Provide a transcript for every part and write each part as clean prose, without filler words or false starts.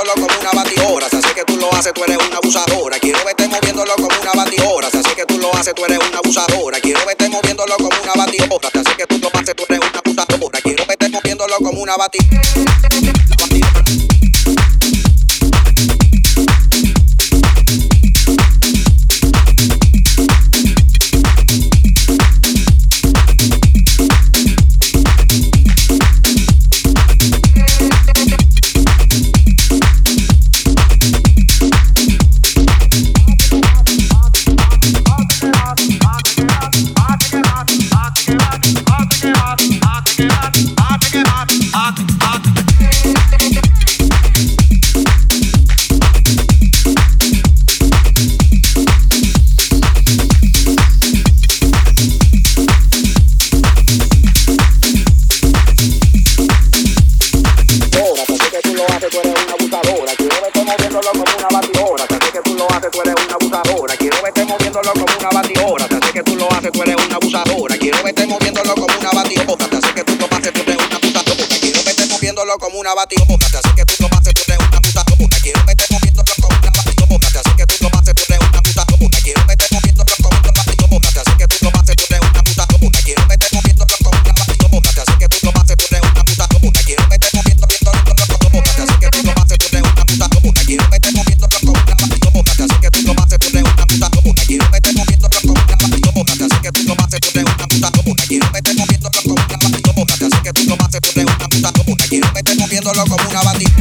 moviéndolo como una batidora. Si así que tú lo haces, tú eres una abusadora. Quiero verte moviéndolo como una batidora. Si así que tú lo haces, tú eres una abusadora. Quiero verte moviéndolo como una batidora. Si así que tú lo haces, tú eres una abusadora. Quiero verte moviéndolo como una batidora. Como una batidora, así que tú lo haces, tú eres una abusadora. Quiero verte moviéndolo como una batidora, así que tú lo haces, tú eres una abusadora. Quiero verte moviéndolo como una batidora, así que tú lo haces, tú eres una abusadora. Quiero verte moviéndolo como una batidora, así que tú lo haces, tú eres una abusadora. Quiero verte moviéndolo como una batidora, así que tú lo haces, tú eres una abusadora. Quiero verte moviéndolo como una batidora, así que tú lo haces, tú eres una abusadora. Quiero verte moviéndolo como una batidora, así que tú lo haces, tú eres una abusadora. Quiero verte moviéndolo como una batidora, así que tú lo haces, tú eres una abusadora. Quiero verte moviéndolo como una batidora.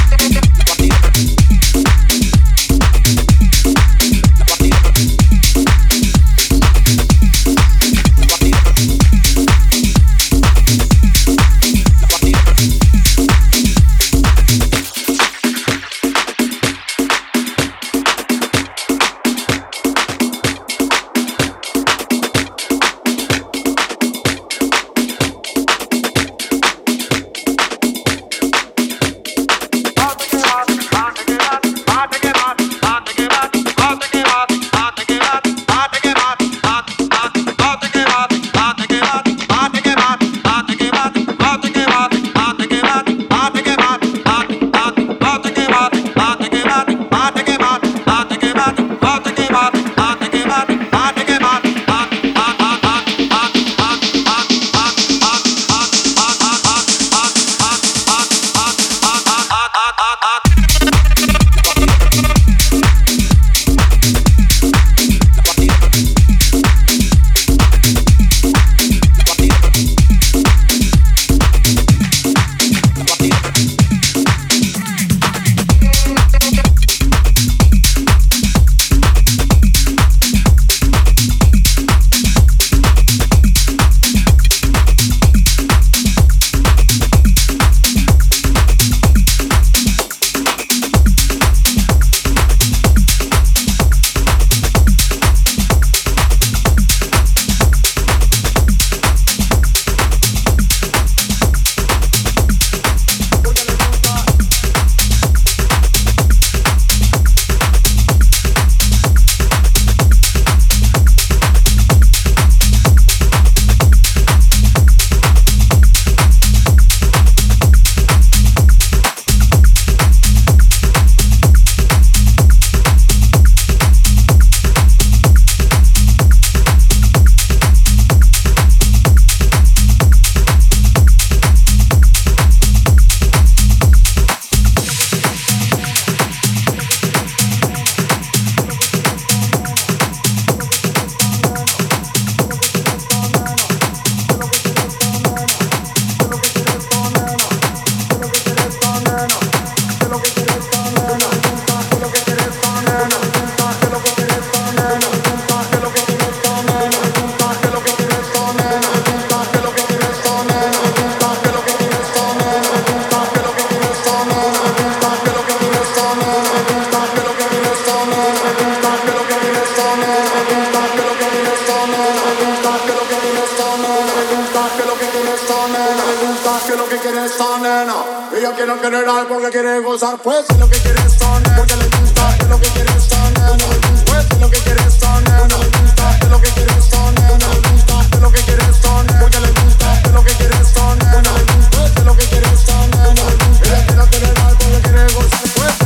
Ella quiere querer porque quiere gozar, pues es lo que quiere esta nena, porque le gusta, es lo que quiere esta nena, pues es lo que quiere esta nena, le gusta, es lo que quiere esta nena, le gusta, es lo que quiere esta nena, porque le gusta, es lo que quiere esta nena, le gusta, es lo que quiere esta nena, ella quiere querer porque quiere gozar, pues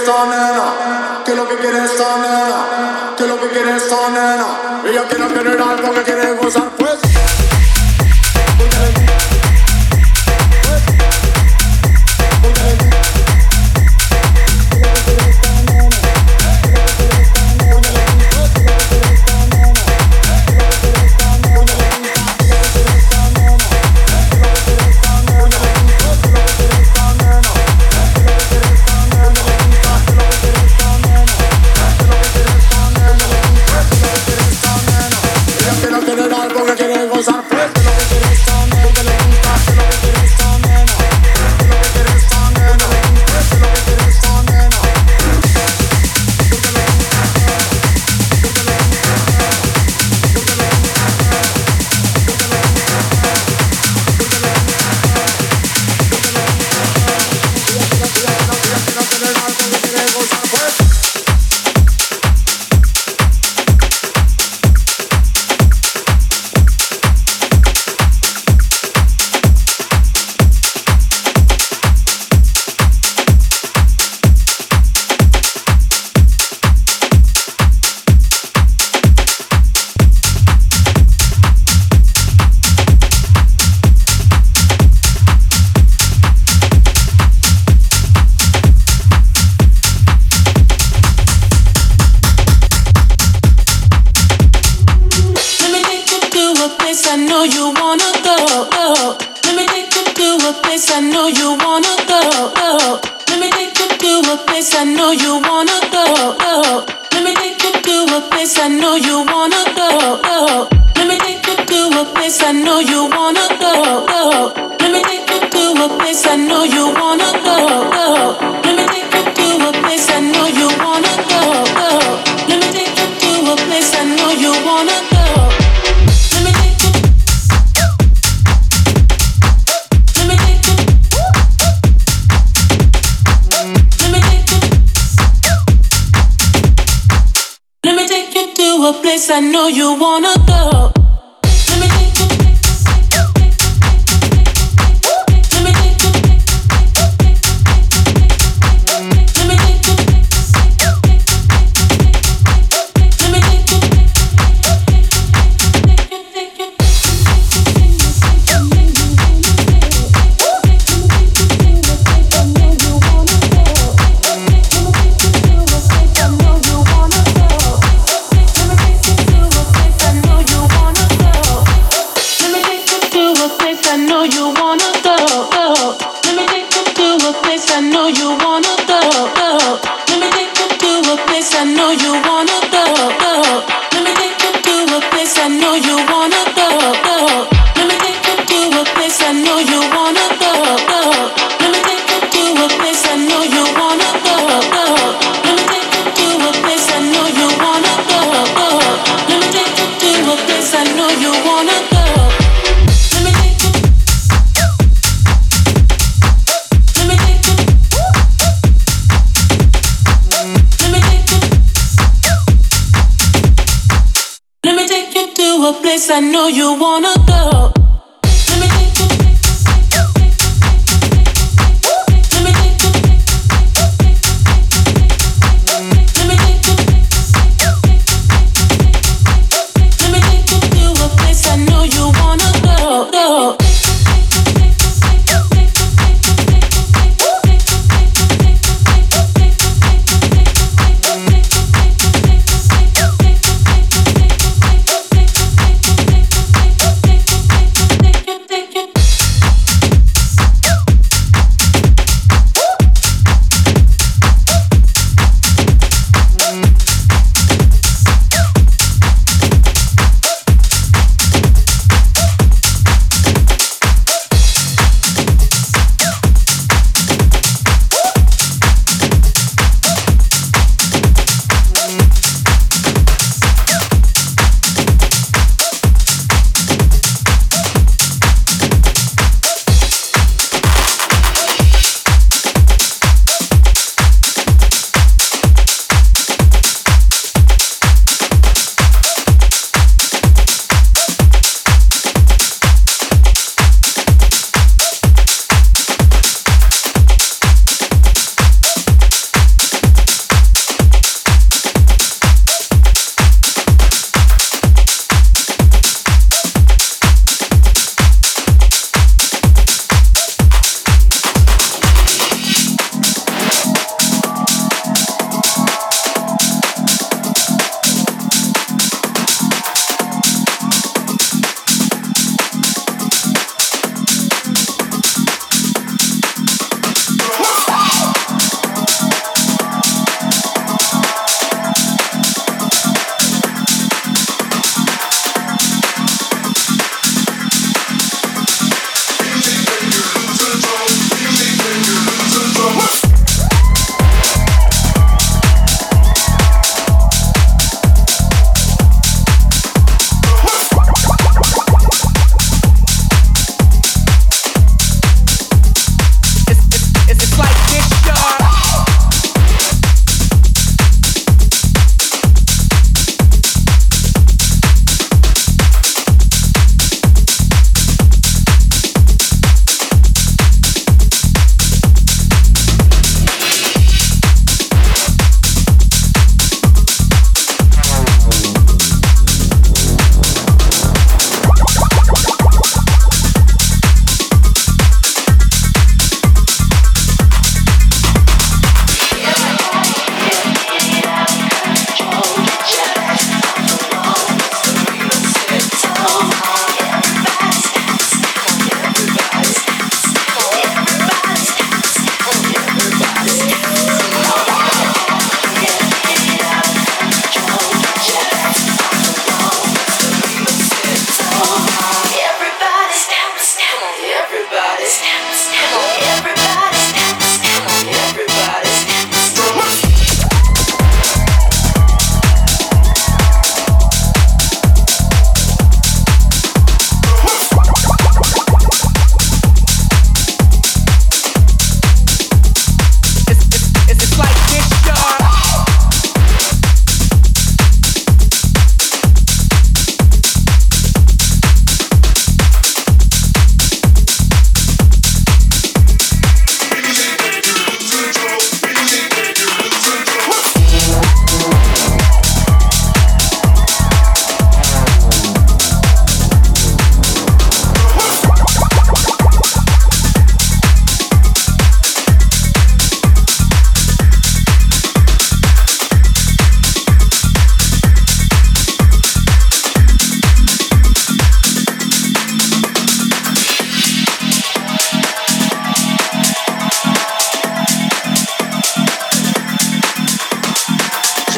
esta nena? ¿Qué es lo que quiere esta nena? ¿Qué es lo que quiere esta nena? Ella quiere tener algo que quiere gozar, pues. I know you wanna go. I know you wanna go.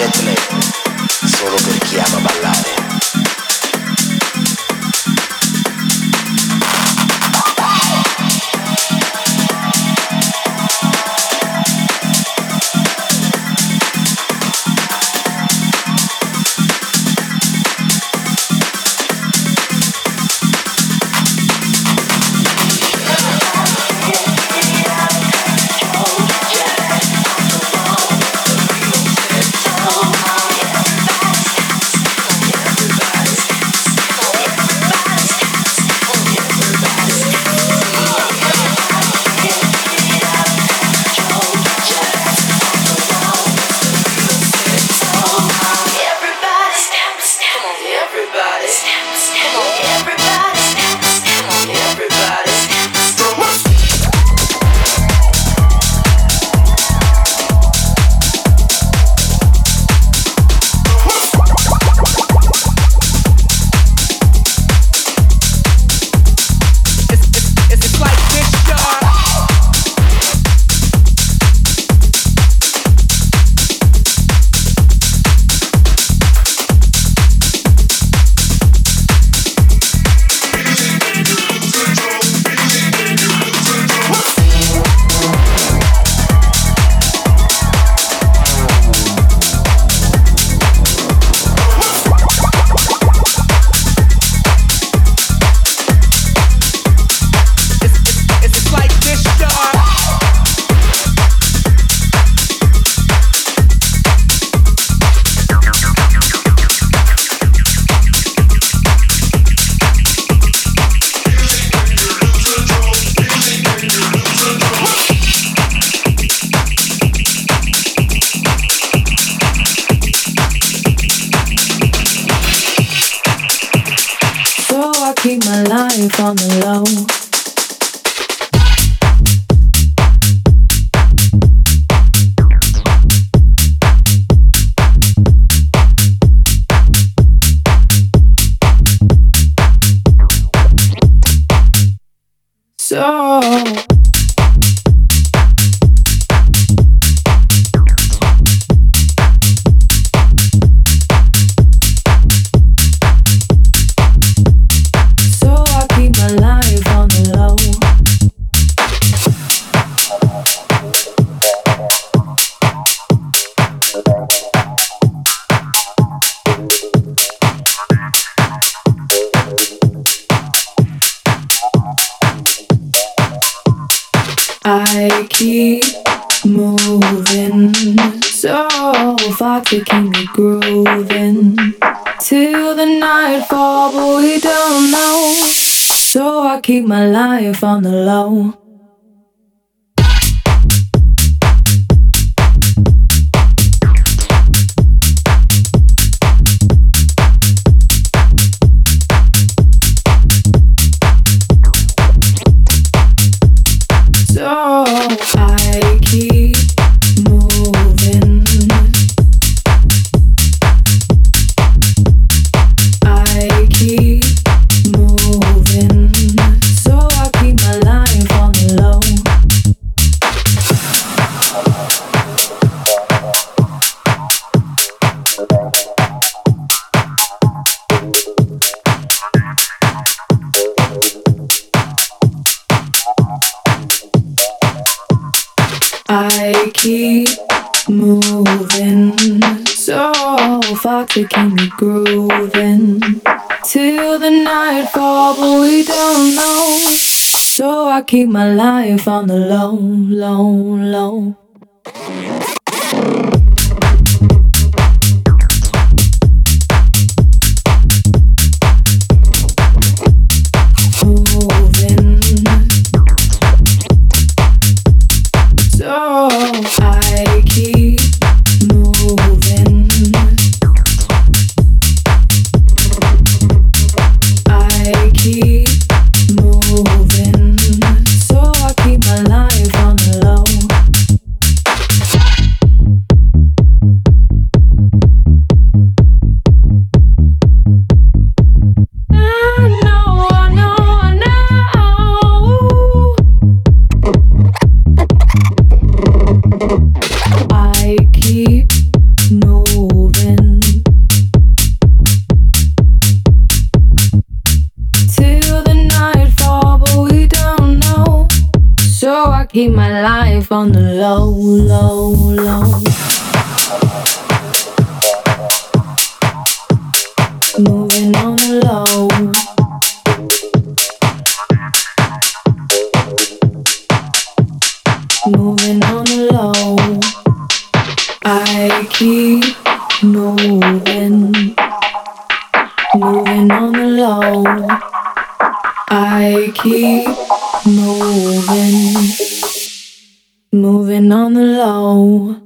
Betlemme, solo per chi ama ballare. On the low. I keep moving so far, taking me grooving till the nightfall, but we don't know. So I keep my life on the low. I keep moving. I keep moving. So I keep my life on the low. I keep moving so far, taking me grooving till the nightfall, but we don't know. So I keep my life on the low, low, low. I keep moving. I keep moving. So I keep my life on the low. I keep moving. keep my life on the low, low, low. Moving on the low. Moving on the low. I keep moving. Moving on the low. I keep moving. Moving on the low.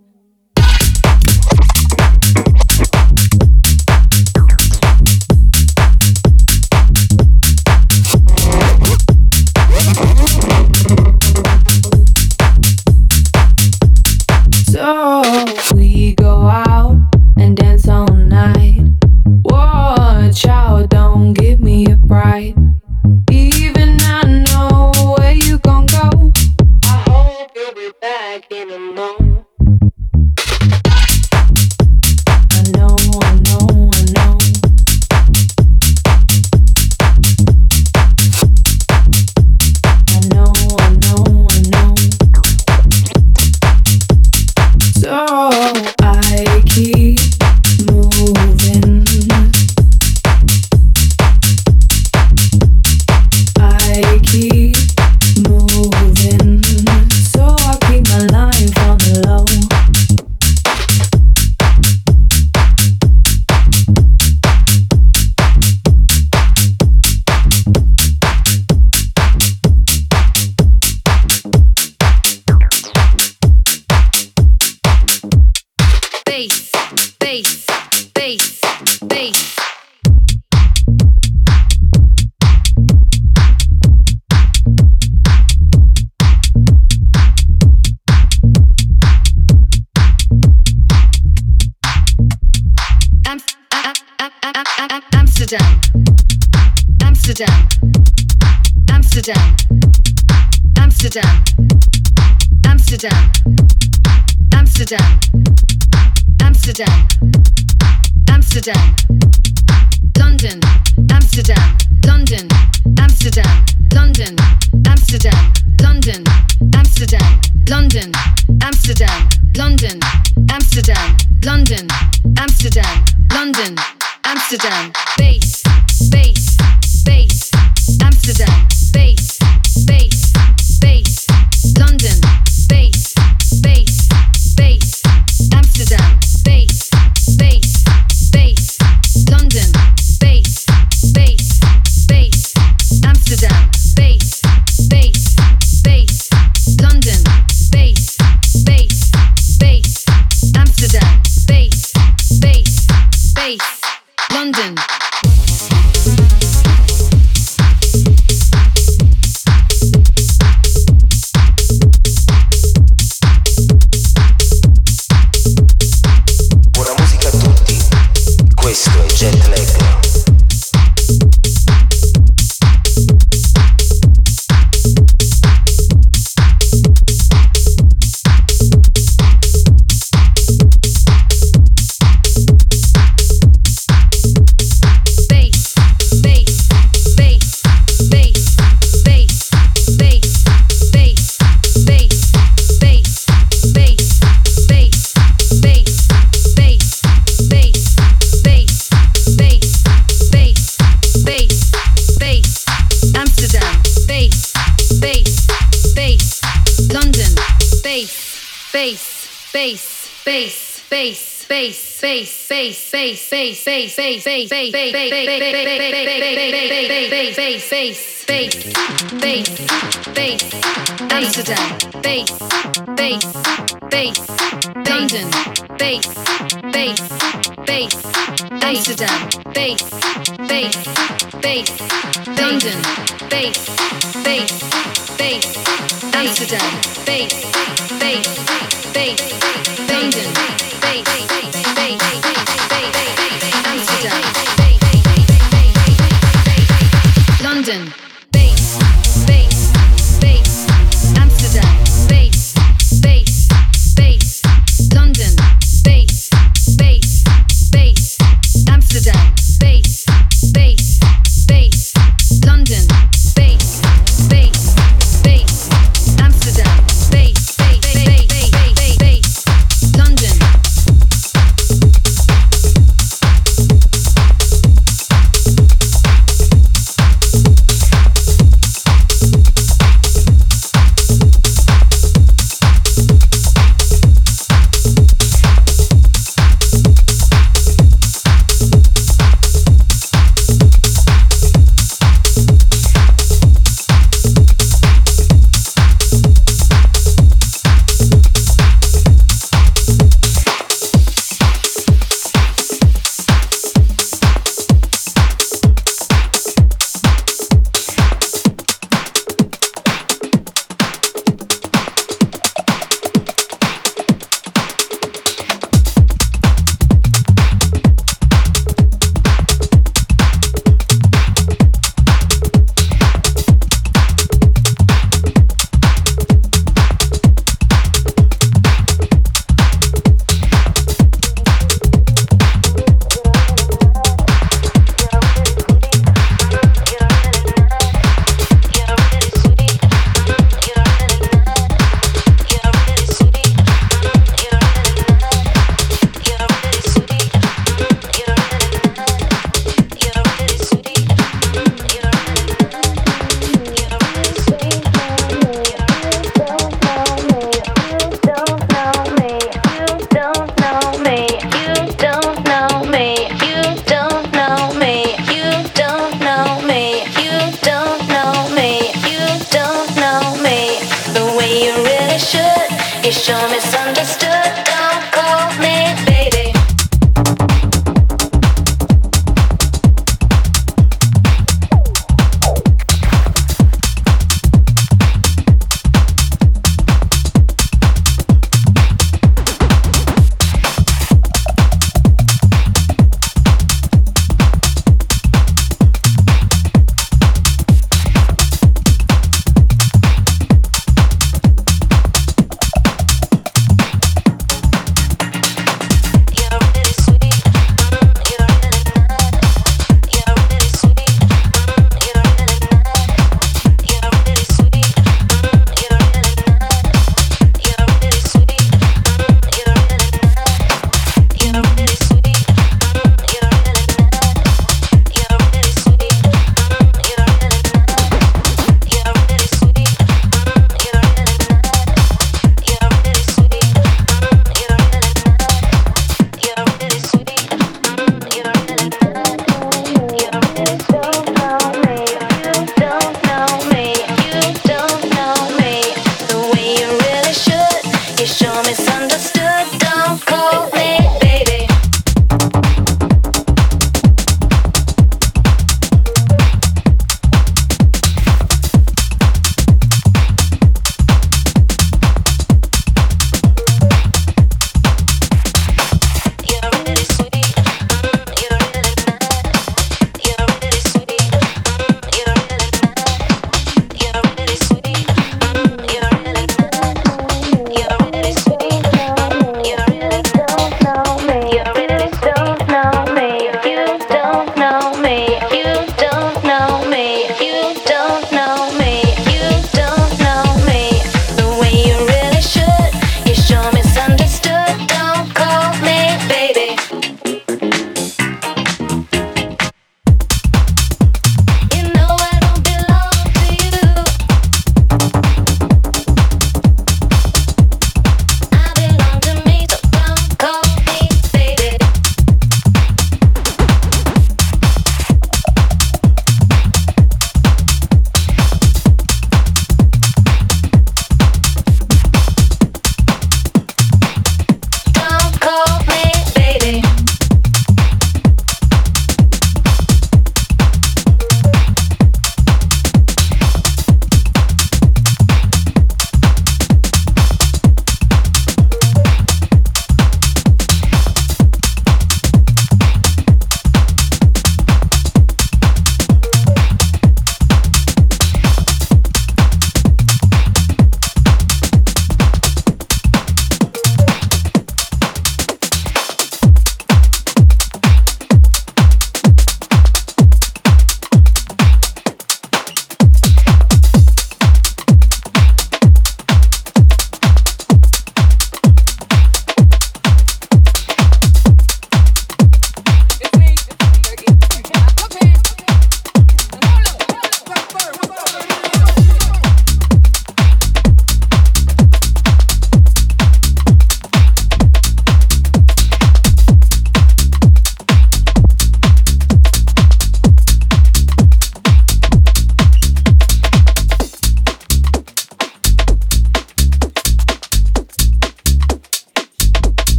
So we go out and dance all night. Watch out, don't give me a fright. Even I know where you gon' go. I hope you'll be back in a moment. I know, I know, I know. I know, I know, I know. So I keep moving. I keep moving. So I keep my life on the low. Bass, bass, bass, bass. Amsterdam, Amsterdam, Amsterdam, Amsterdam, Amsterdam, Amsterdam, Amsterdam, Amsterdam, London, Amsterdam, London, Amsterdam, London, Amsterdam, London, Amsterdam, London, Amsterdam, London, Amsterdam, London, Amsterdam, London, Amsterdam, bass, bass, bass, Amsterdam, bass, bass, bass, London, bass, bass, bass, Amsterdam, bass, bass, bass, London, bass, bass, bass, Amsterdam, bass, bass, bass, London, bass, bass, bass, Amsterdam, bass, bass, bass, London. Buona musica a tutti, questo è Jet Lag. Amsterdam, bass, bass, bass, London, bass, bass, bass, Amsterdam, bass, bass, bass, London, bass, bass, bass, Amsterdam, bass, bass, bass, London, bass, bass, Amsterdam, London, bass, bass, bass, Amsterdam, bass, bass, bass, London, bass, bass, bass, Amsterdam, bass, bass, bass, London, bass, bass, bass, Amsterdam.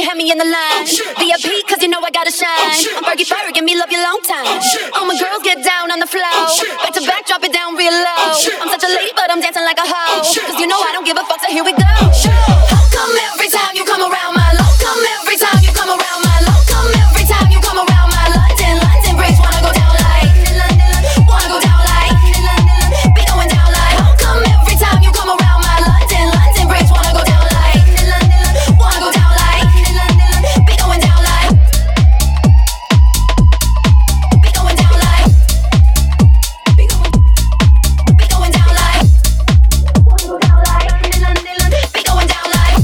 have me in the line. VIP, cause you know I gotta shine. I'm Fergie Ferg, give me love you long time. All my girls get down on the floor. Back to back, drop it down real low. I'm such a lady, but I'm dancing like a hoe. Cause you know I don't give a fuck, so here we go. How come every time you come around my low? Come every time you come around my low? Come every time you come around my London bridge wanna go down like, wanna go down like, be going down like. How come every time you come around my London bridge wanna go down like, wanna go down like, be going down like, be going down like, be going down like, wanna go down like, be going down like.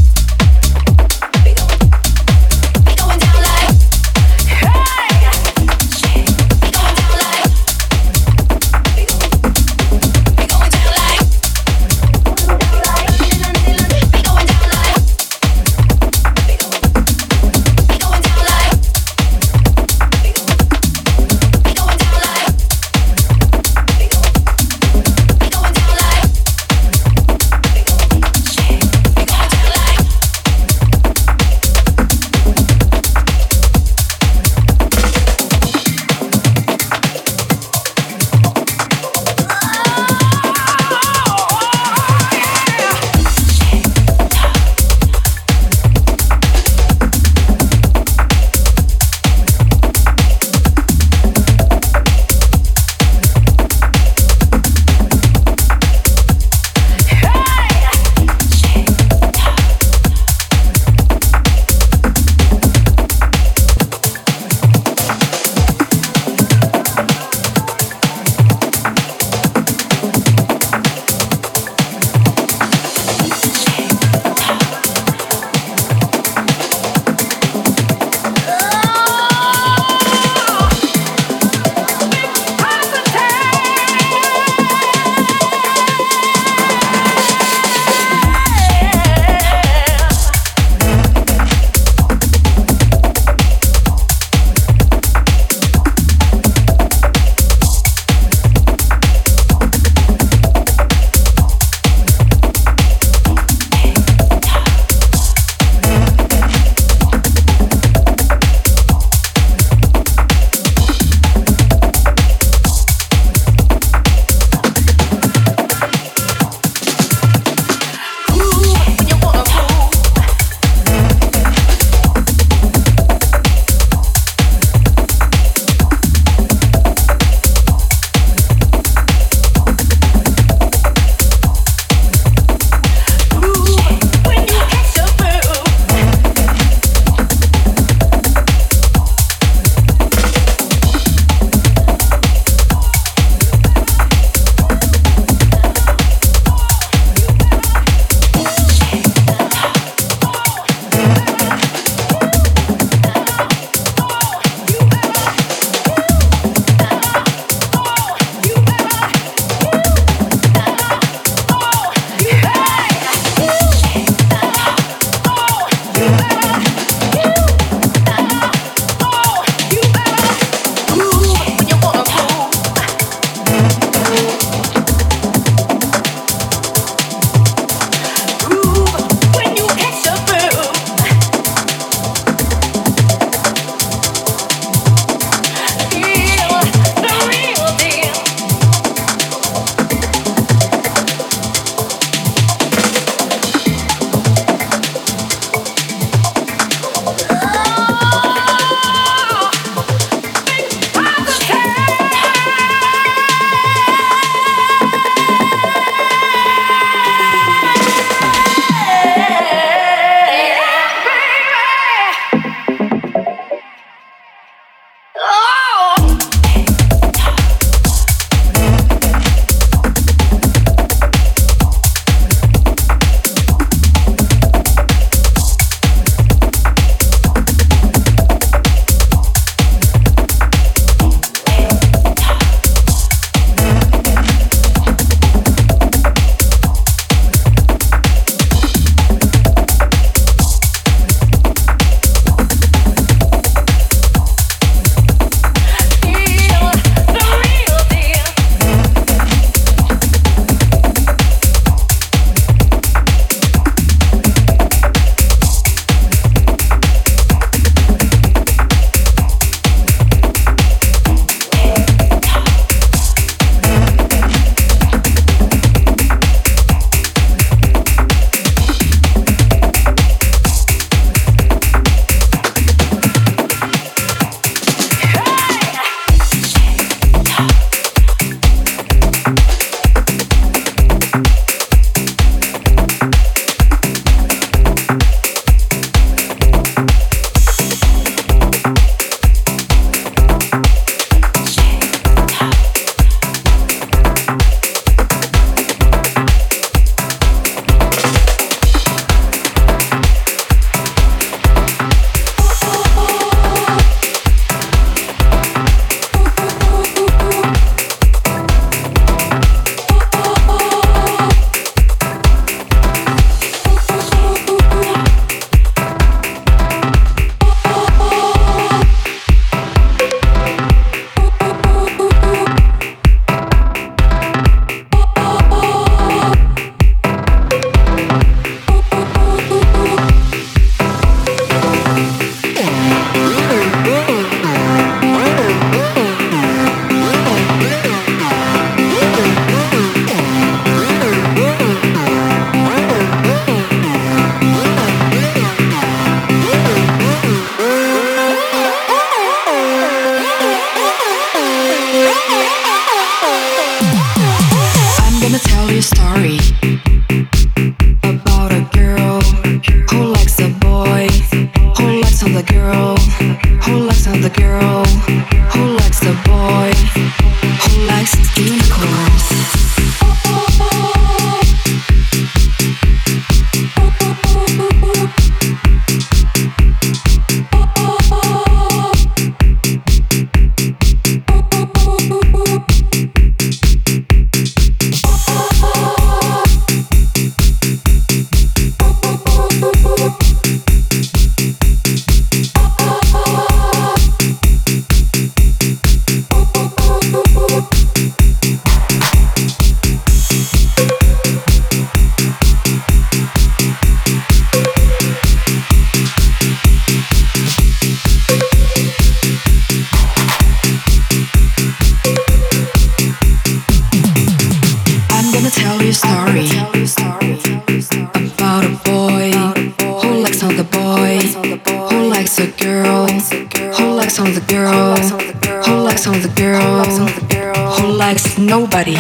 girl who likes on the girl who likes nobody.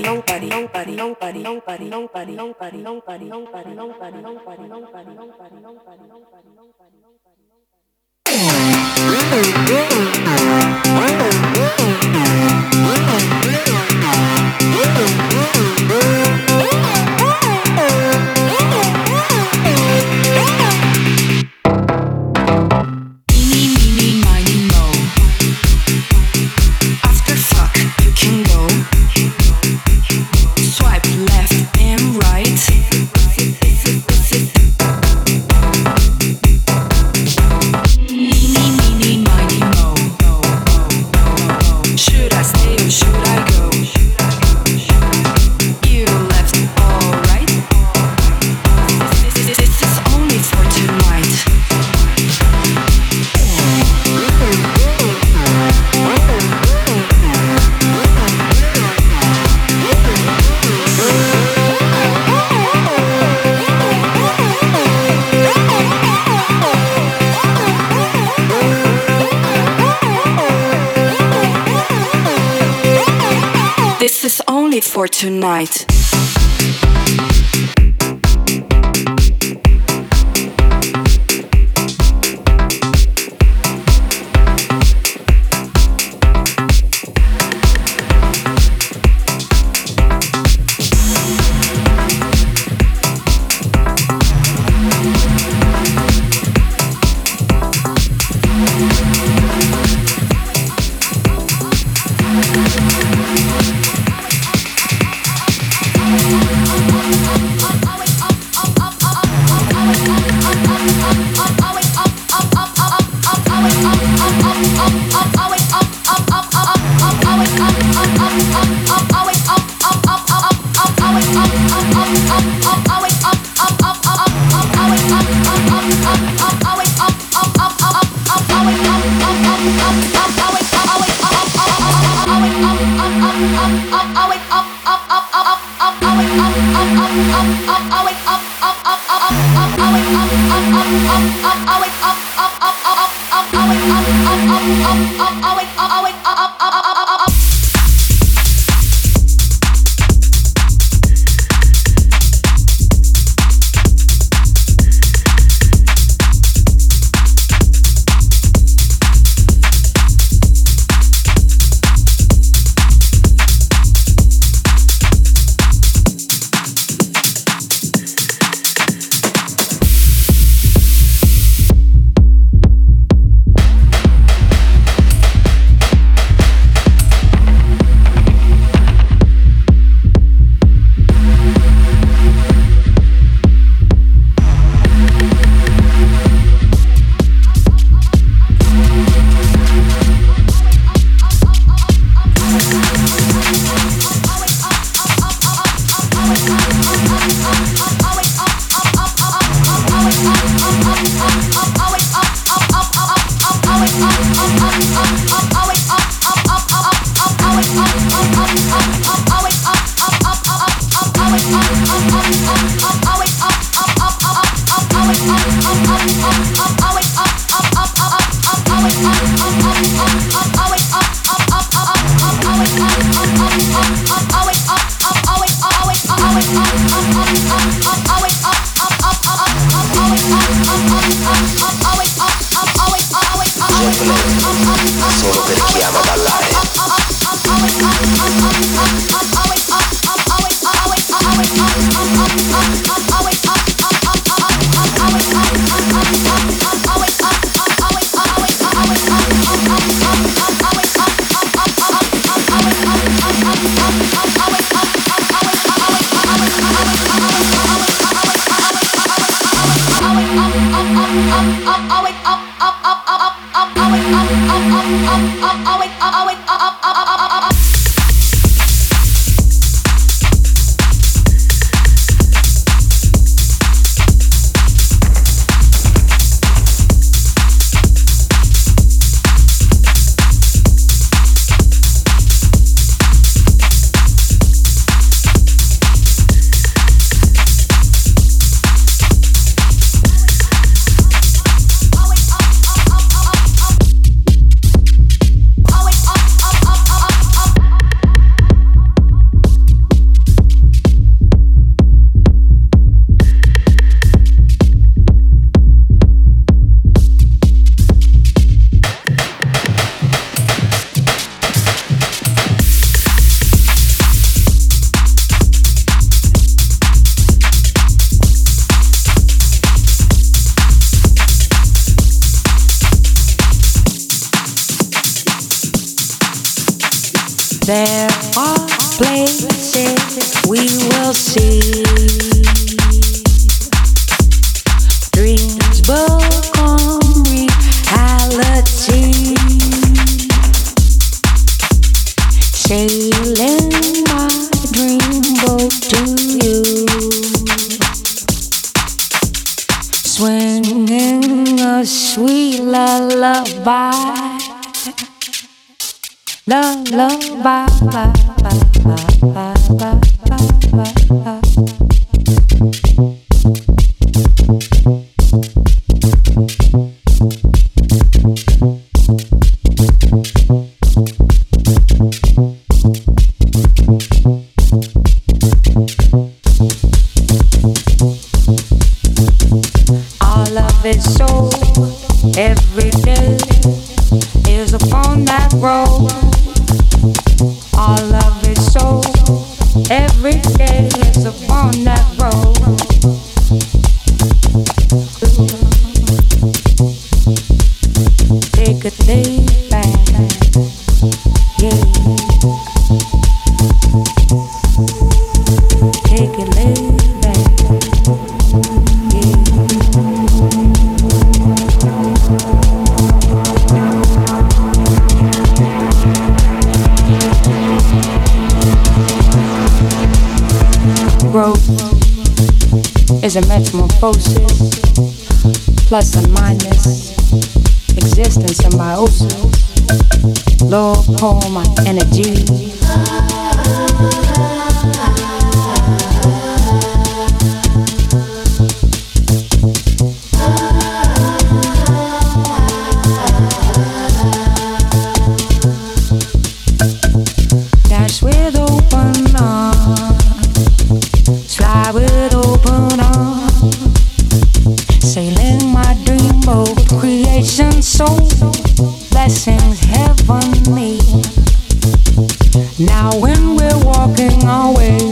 For tonight. Dreams become reality. Sailing my dreamboat to you. Swinging a sweet lullaby. Lullaby. All of it so every day is upon that road. All of it so every day is upon that road. Take a day back, yeah. Take it lay back, yeah. Growth is a metamorphosis, plus and minus, existence symbiosis. Lord, pour my energy. Dash with open arms, fly with open arms, sailing my dreamboat, creation soul, blessings heavenly. Now when we're walking our way,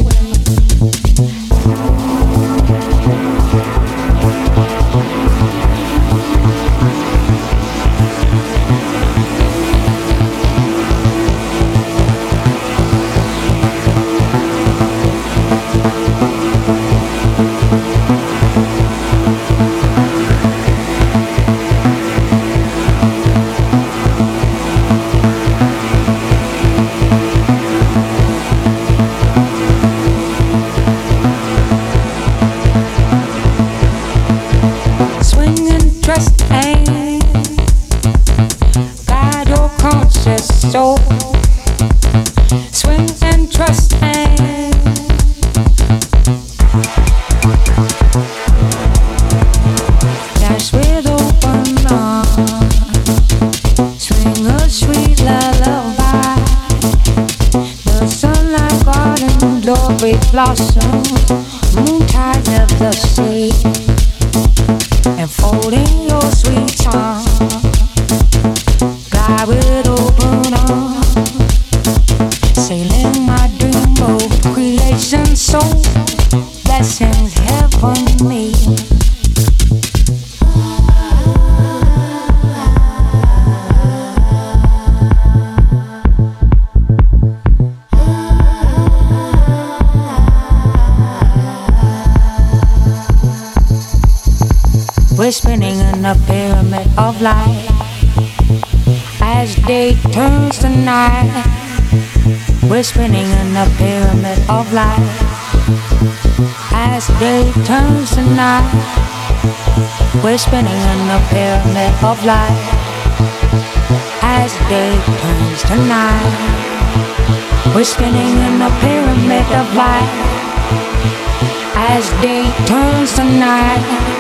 soul, swing and trust and dash with open arms, swing a sweet lullaby. The sunlight garden glory blossoms, moontide of the sea, enfolding your sweet charm. Fly with open arms, sailing my dreamboat, creation soul, blessings heavenly. We're spinning in a pyramid of light. As day turns to night, we're spinning in a pyramid of light. As day turns to night, we're spinning in a pyramid of light. As day turns to night, we're spinning in a pyramid of light. As day turns to night,